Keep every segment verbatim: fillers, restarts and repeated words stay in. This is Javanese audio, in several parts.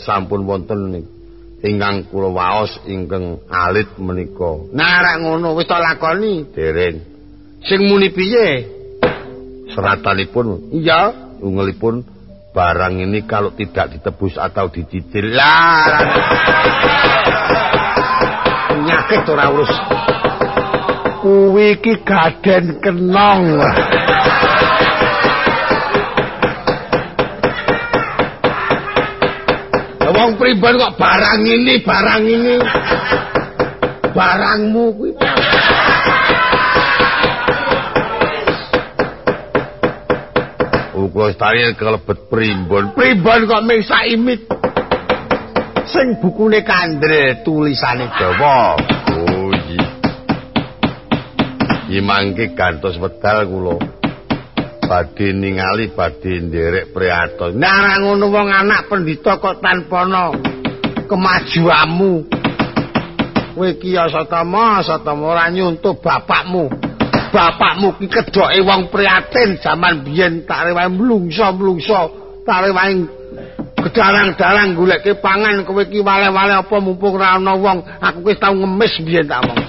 sampun wonten ingkang kula waos ingkang alit menika. Nah rak ngono wis tak lakoni dereng. Sing muni piye? Seratanipun. Iya, ungelipun barang ini kalau tidak ditebus atau dicicil. Lah. Penyakit ora urus. Kuwi iki gaden kenong. Wong pribadi kok barang ini, barang ini. Barangmu kuwi. Uga stari kelebet primbon. Primbon kok mung saimit. Sing bukune kandre tulisane Jawa. Oh iya. Iki mangke gantos wedal kula. Badhe ningali badhe nderek priatos. Nah ora ngono wong anak pendhita kok tanpa ana kemajuanmu. Kowe iki ya satama, satama ora nyuntuh bapakmu. Bapakmu ki kedoke wong priatin jaman biyen tak rewahe mlungso-mlungso, tak rewahe gedarang-darang goleke pangan kowe ki wale-wale apa mumpung ora ana wong. Aku wis tau ngemis biyen tak omong.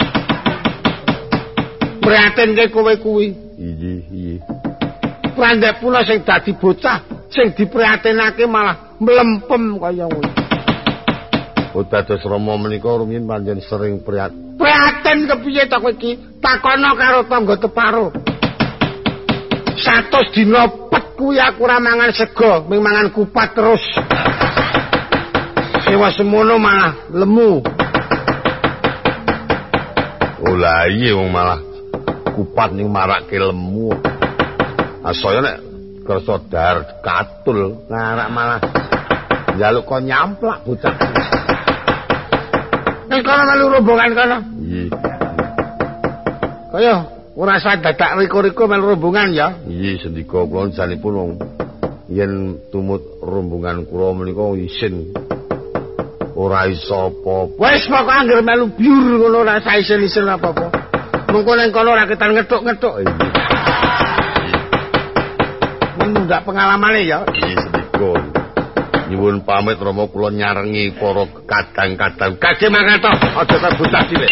Priatin ke kowe kuwi. Iya, iya. Randhek pula sing dadi bocah sing diprihatinake malah mlempem kaya ngono. Oh dados Rama menika rumiyin panjen sering prihatin. Prihatin kepiye to kowe iki? Takono karo tangga teparo. Satus dina pet kuwi aku ora mangan sego, mung mangan kupat terus. Sewa semono malah lemu. Oh lah iya wong malah kupat ning marake lemu. Asaya nek kersa dar katul ngarak malah njaluk kok nyamplak bocah. Nek kono melu rombongan kono. Iya. Kaya ora usah dadak riko-riko melu rombongan ya. Iya sendika kula janipun wong yen tumut rombongan kula menika isin ora iso apa-apa. Wis pokoke anggere melu biur ngono ora usah isin-isin apa-apa. Mengko ning kono ora ketan ngethuk-ngethuk. Ndak pengalamane ya. Iya sedikon. Nyuwun pamit Rama kula nyarengi para kadang-kadang. Kage mangkat aja terbocah cilik.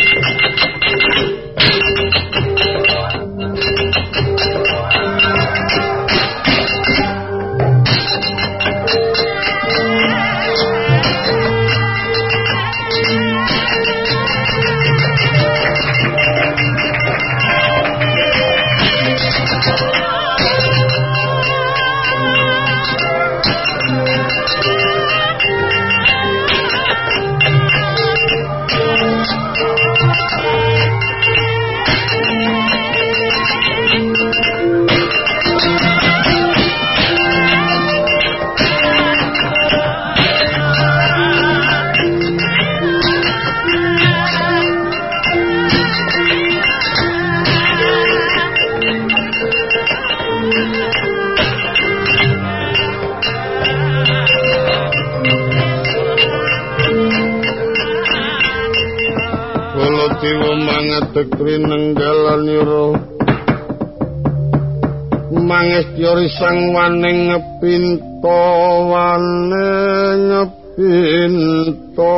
Tekri nenggalaniro mangestyori sang waning ngepinto waning ngepinto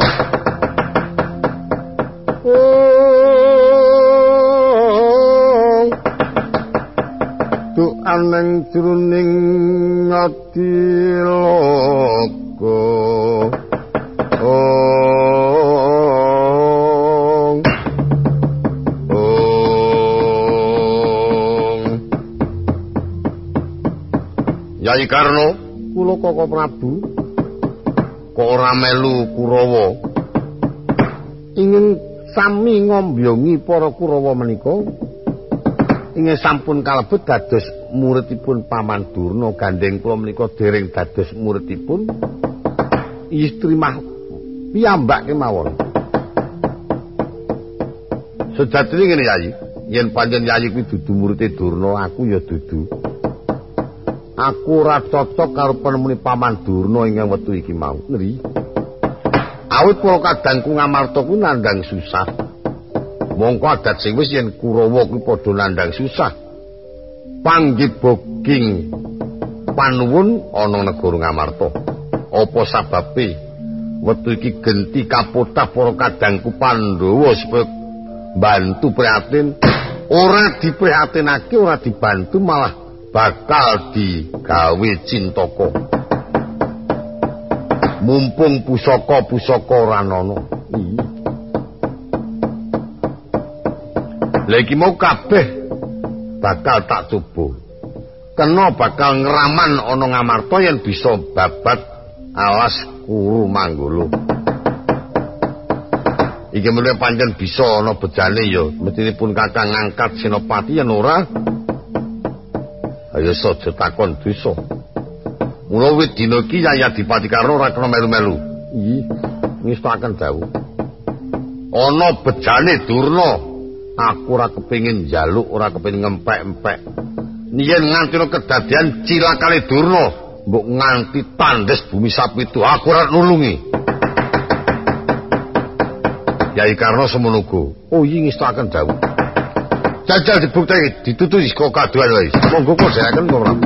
oh tu aneng jroning ati loko oh Yai Karno, kula Koko Prabu kok ora melu Kurawa. Ingin sami ngombyongi para Kurawa menika. Ingin sampun kalebet dados muridipun Paman Durna gandeng kula menika dereng dados muridipun istri mah piyambak kemawon. Sejatine ngene Yai, yen pancen Yai kuwi dudu muride Durna, aku ya dudu. Aku ora cocok karo penemune Paman Durna ingkang wektu iki mau. Ngeri. Awit kula kadangku ngamarta kuwi nandhang susah. Mongko adat sing wis yen Kurawa kuwi padha nandhang susah. Panggih boging panuwun ana negara Ngamarta. Apa sababe wektu iki genti kapotah para kadangku Pandhawa supaya bantu prihatin, ora diprihatinake, ora dibantu malah bakal digawe cintaka. Mumpung pusaka-pusaka ora ana. Lah iki mau kabeh bakal tak coba. Kena bakal ngeraman ana Ngamarta yen bisa babat alas Kuru Manggala. Iki meneh pancen bisa ana bejane ya, mestinipun Kakang ngangkat Senopati yen ora ayo saja takon dosa. Mula wit dina iki Yaya Dipati Karna ora kena melu-melu. Nggih, ngestaken dawuh. Ana bejane Durna, aku ora kepengin njaluk, ora kepengin ngempek-empek. Yen nganti kedadian cilakane Durna, mbok nganti tandes bumi sapitu, aku ora nulungi. Yai Karna semono uga. Oh iya ngestaken dawuh. Jajal dibukteni ditututi saka kaduan wae. Monggo kok seraken kok Prabu.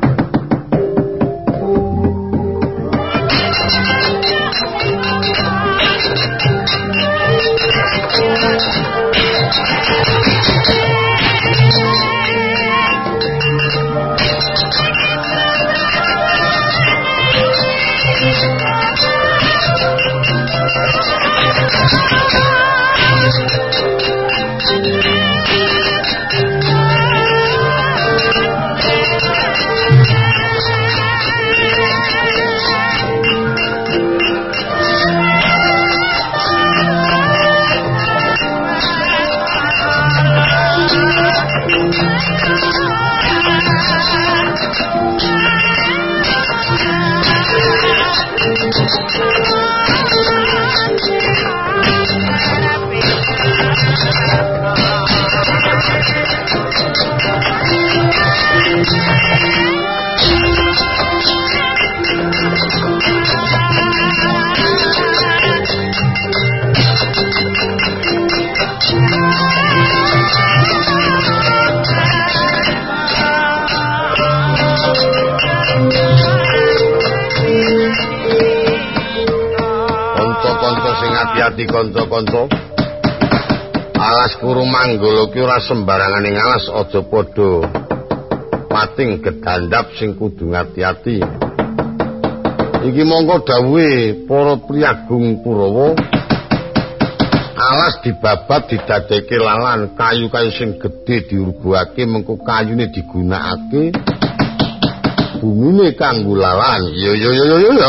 Hati kanca-kanca, alas Kuru Manggala ki ora sembarangan ing alas, aja padha pating gedandap sing kudu ngati-ati. Iki mongko dawuhe para priyagung Kurawa, alas dibabat didadekake lalan, kayu-kayu sing gedhe diurbuake, mengko kayune digunakake, bumine kanggo lalan. Yo yo yo yo yo.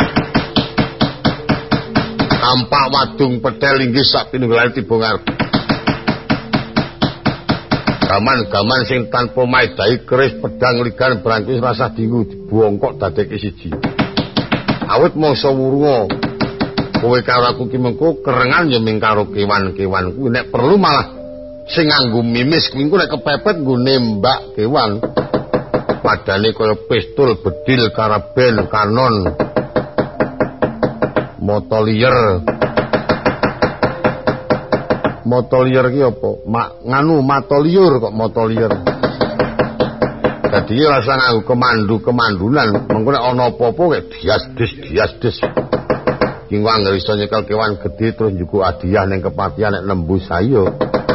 Tampak wadung petel inggih sak pinunggalan tiba ngarep. Gaman-gaman sing tanpa maidai keris pedang ligan brangkis rasah dinggu dibongkok dadeke siji. Awit mangsa wurunga kowe karo aku ki mengko kerengan ya ming karo kewan-kewan kuwi, nek perlu malah sing nganggo mimis kuwi nek kepepet nggo nembak kewan. Padane kaya pistol, bedil, karaben, kanon, motolier. Motolier ki apa? Ma, nganu matoliur kok motolier. Dadi rasa nganggo kemandu-kemandunan, mengko nek ana apa-apa kek dias-dis-dias-dis. Ki wong iso nyekel kewan gedhe terus njuku hadiah ning kepatihan nek nembus ayo.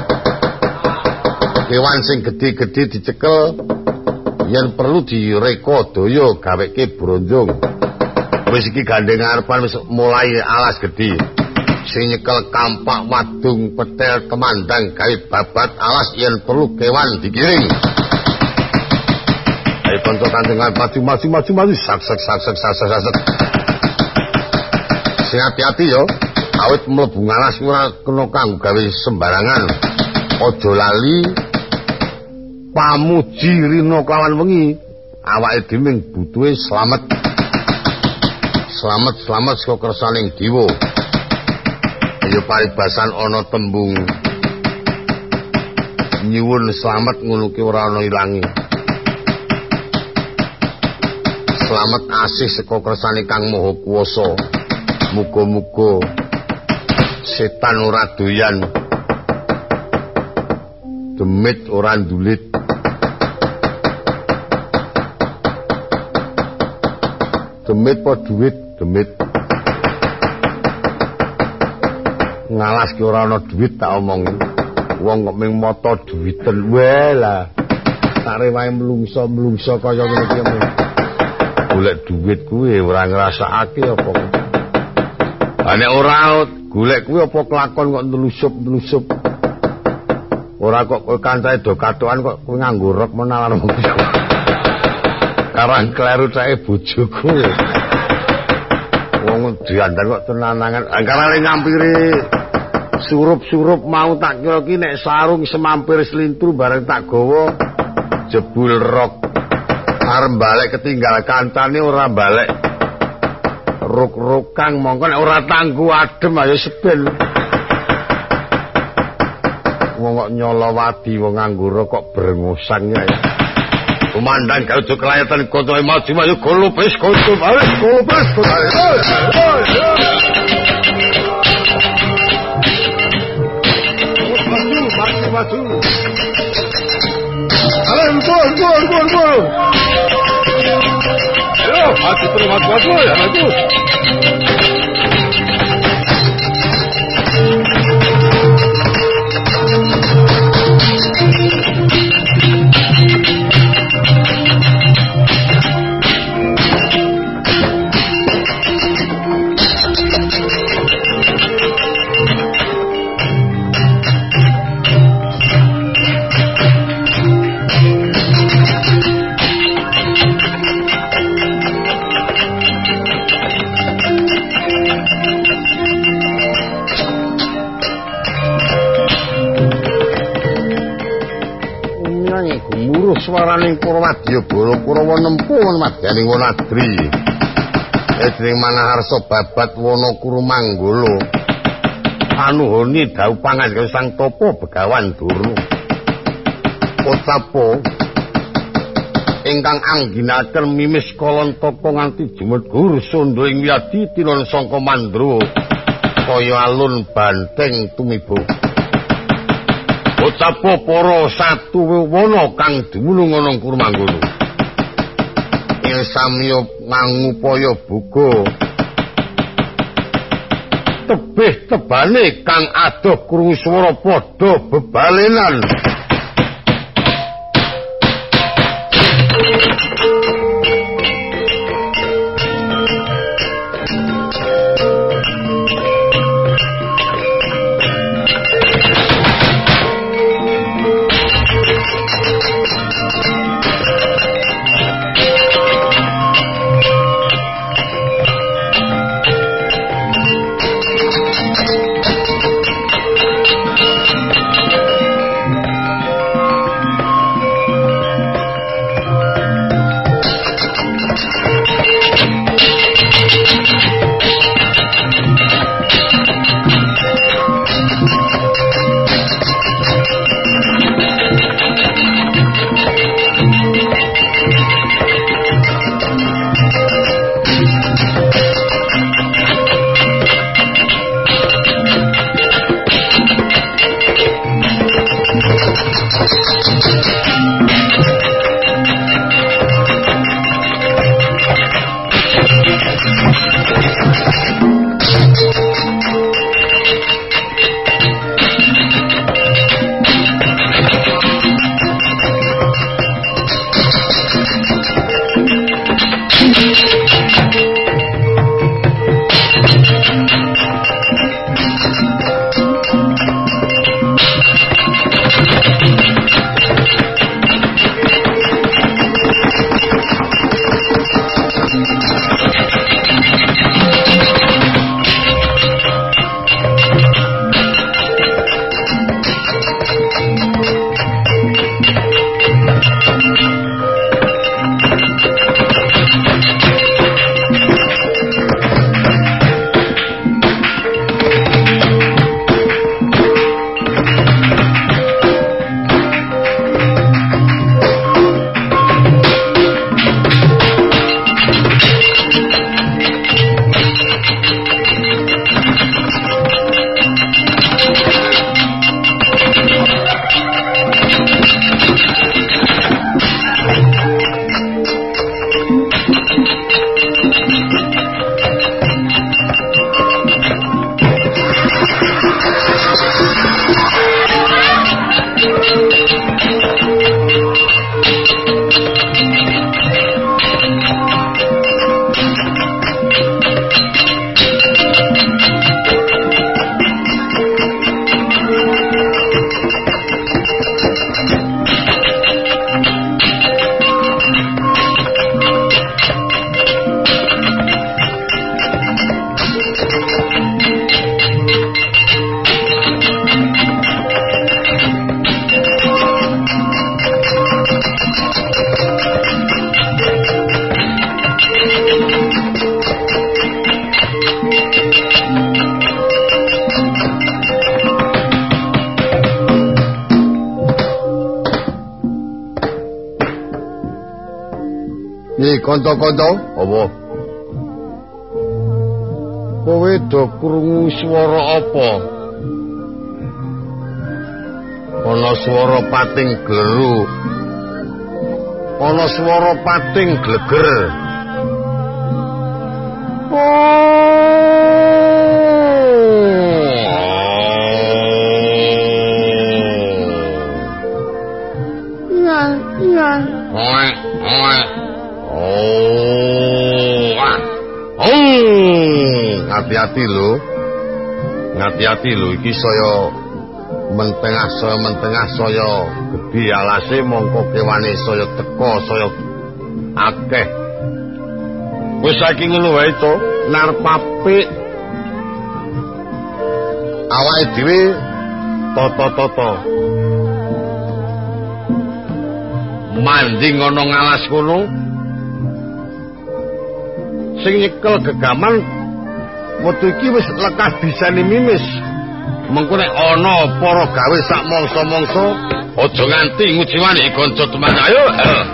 Kewan sing gedhe-gedhe dicekel, yen perlu direka daya gaweke bronjong. Wis iki gandeng arepan wis mulai alas gedhe. Sing nyekel kampak wadung petel kemandang gawe babat alas yen perlu kewan digiring. Ayo kanca kandengan maju maju maju maju sak sak sak sak sak sak sak. Sing hati-hati yo, awit mlebu alas ora kena kanggo gawe sembarangan. Aja lali pamuji rina kawan wengi, awake dhewe butuhe slamet. Slamet slamet saka kersaning dewa. Ayo paribasan ana tembung nyuwun slamet ngono ki ora ana ilange. Slamet asih saka kersane Kang Maha Kuwasa. Muga-muga setan ora doyan, demit ora ndulit. Demit po duit. demit. Ngalas ki ora ana duit tak omongi. Wong kok ming mata duwiten wae lah. Sare wae mlungso-mlungso kaya ngono ki. Golek duit kuwi ora ngrasakake apa. Ha nek ora golek kuwi apa kelakon kok nelusup-nelusup. Ora kok kowe kancane do katokan kok kowe nganggo rok menawan wong iki. Karang kleru cake bojoku. Wong diandang kok tenanangan. Angkarane nyampiri surup-surup mau tak kira ki nek sarung semampir selintur bareng tak gawa jebul rok. Arep balik ketinggal kancane ora balik. Ruk-rukang mongko nek ora tanggu adem ayo seben. Wong kok nyolowati wong nganggo rok brengosang ya. Kumandang karo jo kelayatan kono maju maju golopes kono ayo golopes kono. Maju maju. Ayo gol gol gol gol. Ayo maju terus maju maju ya maju. Swaraning Purwadya Bala Kurawa nempuh madyaning Wanadri. Edring Manaharsa babat Wanakuru Manggala. Anuhoni dawuh pangandikan Sang Tapa Begawan Duru. Potapa ingkang angginaken mimis Kalantaka nganti jumedhur sandha ing wiyadi tinon sangka Mandrawa kaya alun banteng tumiba. Potapa para satu wana kang dumunung ana Kurumanggala. Ing samya ngangupaya buga tebih tebane kang adoh krungu swara padha bebalenan. kanca-kanca, apa? Kowe do krungu swara apa? Ana swara pating gleru. Ana swara pating gleger. Iya, iya. Oi, oi. Oh. Ah. Oh. Hati-hati lho. Hati-hati lho iki saya mentengah saya mentengah saya gedhe alase mongko kewane saya teka saya akeh. Wis saiki ngono wae to, narep apik. Awake dhewe toto-toto. Manding ana ngalas kono. Sing nyekel gegaman wektu iki wis lekas disani mimis. Mengko nek ana para gawe sak mangsa-mangsa aja nganti ngujiwani kanca teman ayo.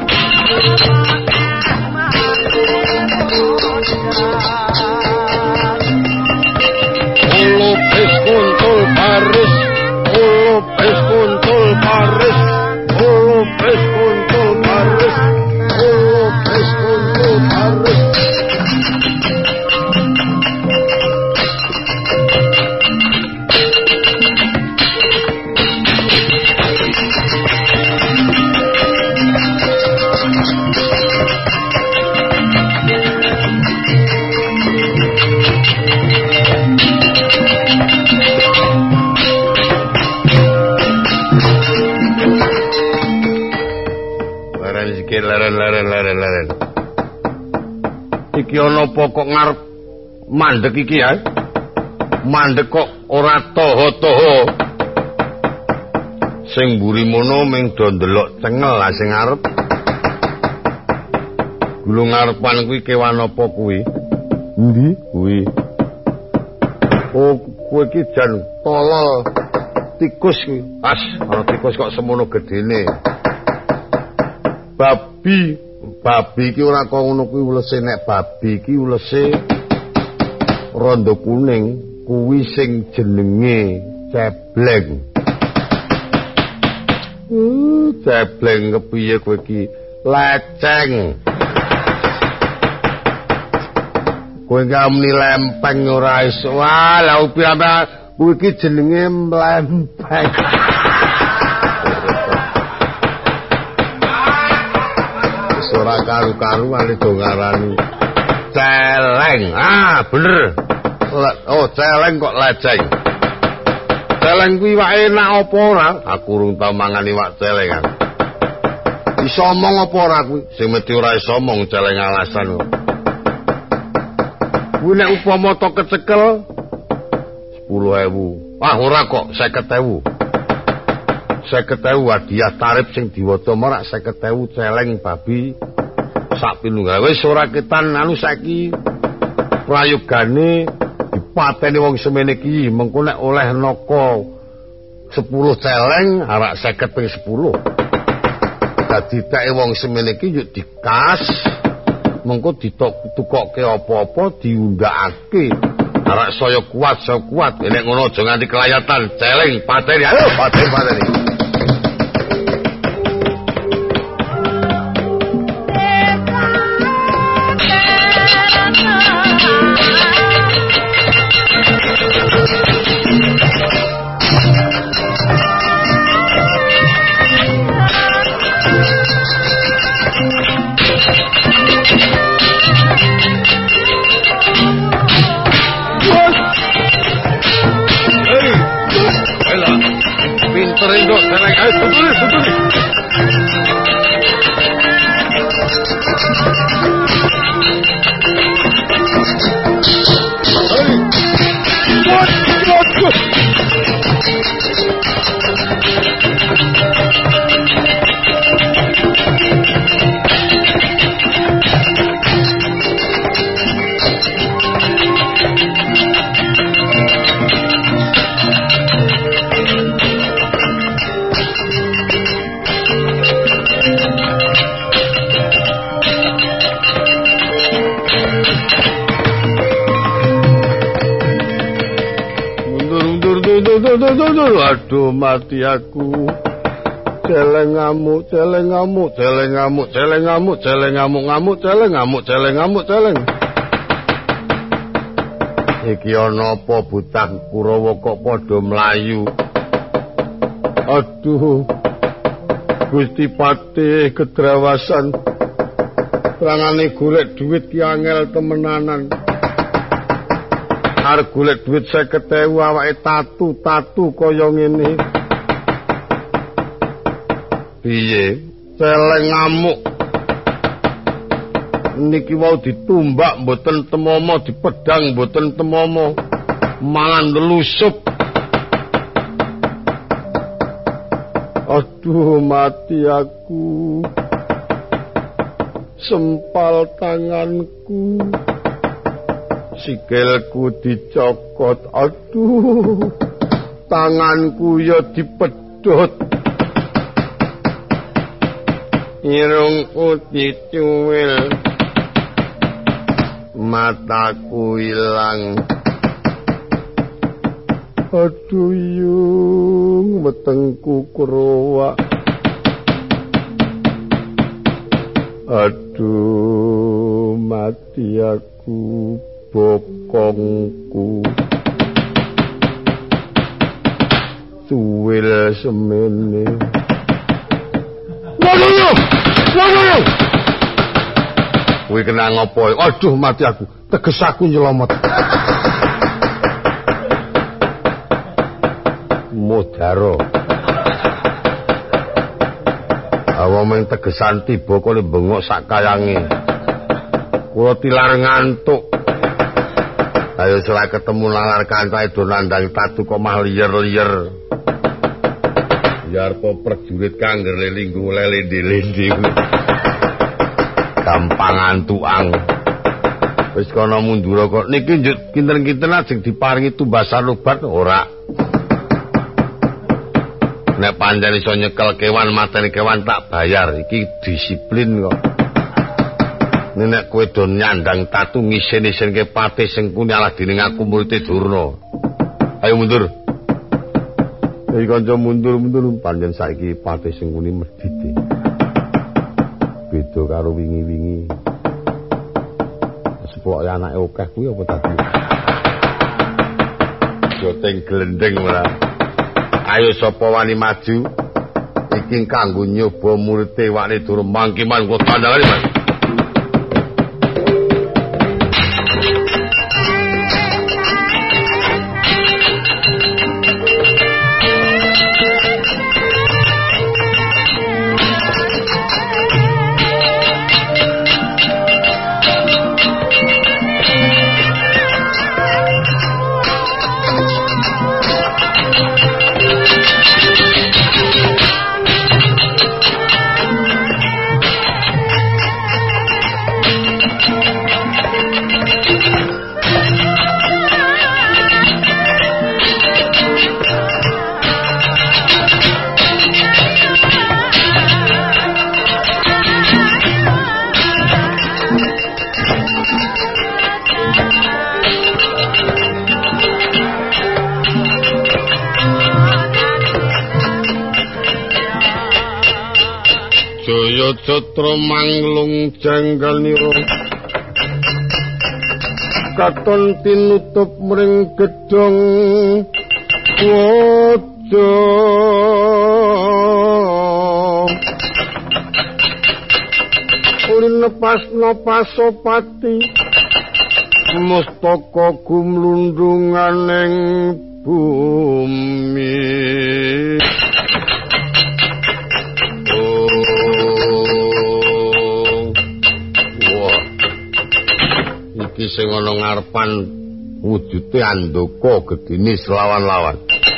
Ulo pes kuntul baris, ulo pes kuntul baris, ulo pes kuntul baris, ulo pes kuntul baris. Leren leren leren leren. Iki ana apa kok ngarep mandek iki ya? Mandek kok ora toho-toho. Sing mburi mono ming do ndelok cengel lah sing ngarep. Gulung ngarepan kuwi kewan apa kuwi? Endi? Kuwi. Oh, kuwi iki jan tolol tikus kuwi. As, ana tikus kok semono gedene. Babi, babi iki ora kok ngono kuwi ulese nek babi iki ulese rondo kuning kuwi sing jenenge cebleng. Uh, cebleng kepiye kowe iki? Leceng. Kowe ngamuni lempeng ora iso. Wah, lha opo kuwi iki jenenge mlempeng. Ora karu-karuan do ngarani celeng. Ah, bener. Oh, celeng kok leceng. Celeng kuwi wae enak apa ora? Aku urung tau mangan iwak celengan. Iso omong apa ora kuwi? Sing mesti ora iso omong celeng alasan kok. Kuwi nek upama to kecekel sepuluh ewu. Ah, ora kok seket ewu. seket ewu hadiah tarif sing diwaca marak seket ewu celeng babi sak pilunggal. Wis ora ketan anu saiki prayogane dipateni wong semene iki mengko nek oleh naka sepuluh celeng arak seket ping sepuluh. Dadi teke wong semene iki yuk dikas mengko ditukokke apa-apa diundhakake arak saya kuat saya kuat nek ngono aja nganti kelayatan celeng pateni ayo pateni pateni. Pinter induk Aduh mati aku. Celeng ngamuk, celeng ngamuk, celeng ngamuk, celeng ngamuk, celeng ngamuk, ngamuk, celeng ngamuk, celeng ngamuk, celeng. Iki ana apa bocah Kurawa kok padha mlayu? Aduh. Gusti Patih kedrawasan. Rangane golek duit ki angel temenanan. Arep golek duit seket ewu awake tatu-tatu kaya ngene. Piye? Celeng ngamuk. Niki wau ditumbak mboten temomo, dipedang mboten temomo. Mangan delusup. Aduh mati aku. Sempal tanganku. Sikilku dicokot. Aduh. Tanganku ya dipedhot. Irungku dicuwil. Mataku ilang. Aduh yung wetengku kerowak. Aduh mati aku bokongku. Cuwil semene. Waduh! Waduh! Kuwi kena ngopo? Aduh mati aku. Teges aku nyelomot. Modaro. Awa meng tegesan tiba kok bengok sak kayange. Kula tilar ngantuk. Ayo selak ketemu lalar kancae do nandang tatu kok mah liyer-liyer. Biar po prajurit kangger linggu lele-lindi. Gampang tuang. Wis kono mundur kok niki njuk kinten-kinten ajeng diparingi tumbasan obat ora. Nek pancen iso nyekel kewan mateni kewan tak bayar. Iki disiplin kok. Nek kowe do nyandang tatu ngisen-isenke Patih Sengkuni alah dening aku murid Durna. Ayo mundur. Iki kanca mundur-mundur pancen saiki Patih Sengkuni medhit. Beda karo wingi-wingi. Sepok anake akeh kuwi apa tadi? Joteng glendeng ora. Ayo sapa wani maju? Iki kanggo nyoba murid Wakne Durna mangkiman kok tandangane, Mas. Catra manglung janggal nira katon tinutup mring gedhong waja ulin pasna pasopati mustaka gumlundunganing bumi. Iki sing ana ngarepan wujude andaka gedene selawan-lawan.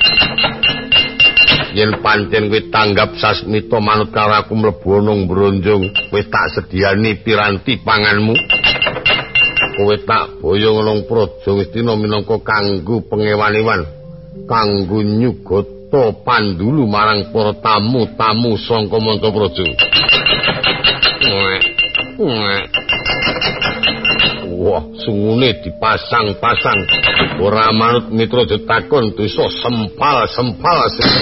Yen pancen kowe tanggap sasmita manut karo aku mlebu ana bronjong, wis tak sediani piranti panganmu. Kowe tak boyong nang praja Ngastina minangka kanggo pengewan-ewan, kanggo nyugata pandulu marang para tamu-tamu saka Mantapraja. wah sungune dipasang-pasang ora manut mitra ditakon dosa sempal-sempal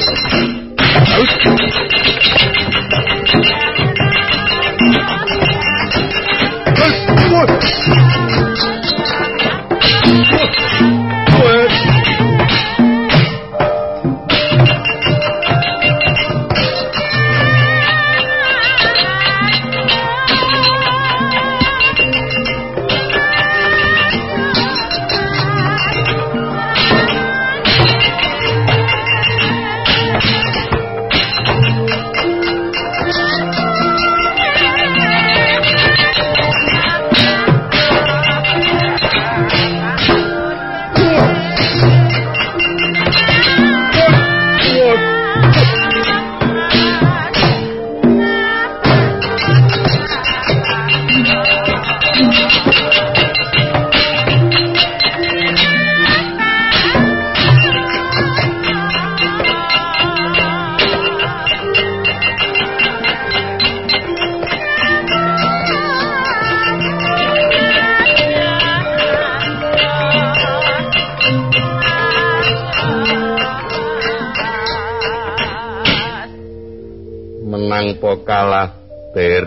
kalah ter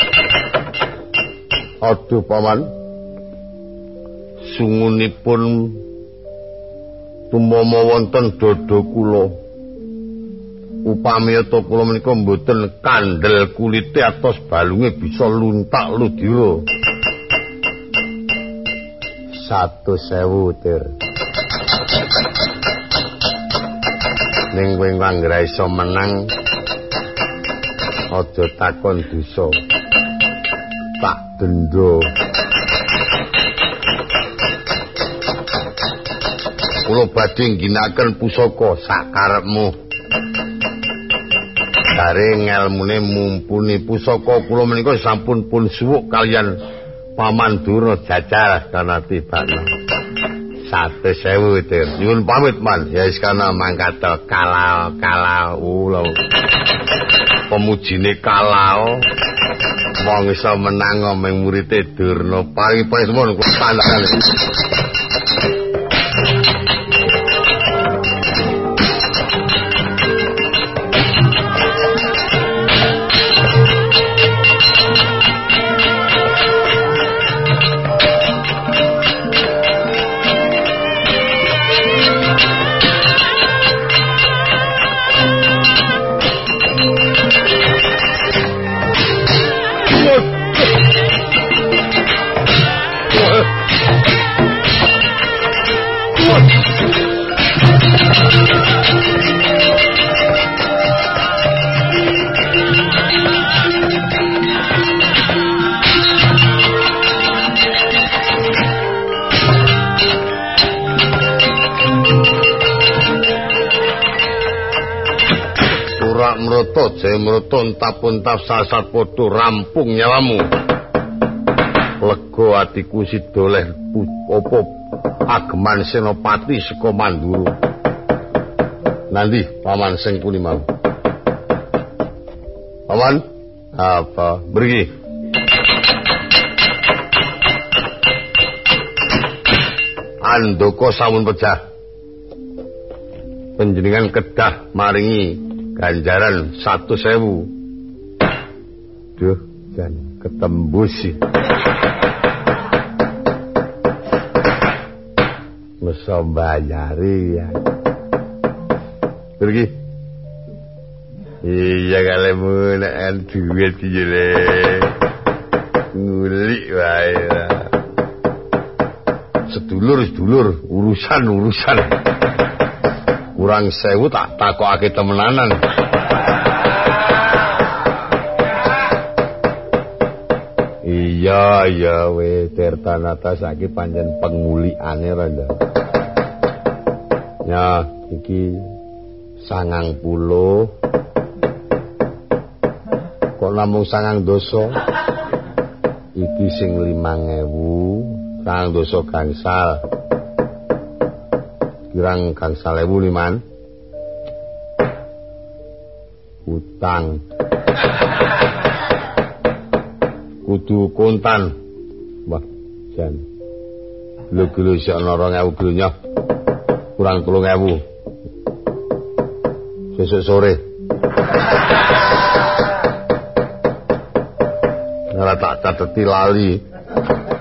aduh paman sungunipun tumama wonten dada kula upami to kula menika mboten kandel kulite atos balunge bisa luntak ludira satu sewu ter ning kowe anggra iso menang aja takon dosa tak denda kula badhe ngginakaken pusaka sakarepmu Daring ngelmune mumpuni pusaka kula menika sampun pun suwuk kalian Paman Durna Jajal kanthi bana satu sewu itu nyuwun pamit man ya wis kana mangkat kalau kalau ulo pemujine kalau wong iso menang meng murite Durna paring-paring semua kula tandakane Mroto jemroto entap-entap sasat podo rampung nyawamu lega atiku sidoleh opo ageman senopati saka Mandura nanti paman sing puni mau paman apa mriki andoko sampun pecah panjenengan kedah maringi ganjaran satu sewu. Duh, dan ketembus sih. Masa bayari ya. Pergi. Iya kalemu nak duit jele. Ngulik wae. Sedulur sedulur urusan urusan. Kurang sewu tak takokake temenanan. Iya iya we Tirtanata saiki pancen pengulikane randa. Ya iki sangang puluh. Kok namung sangang dosa? Iki sing limang ewu, sangang dosa gangsal. Kirang gangsal ewu liman utang kudu kontan wah jan Gilo-gilo isih ana rong ewu gronyoh. Kurang telung ewu. Besok sore. Ora tak cateti lali.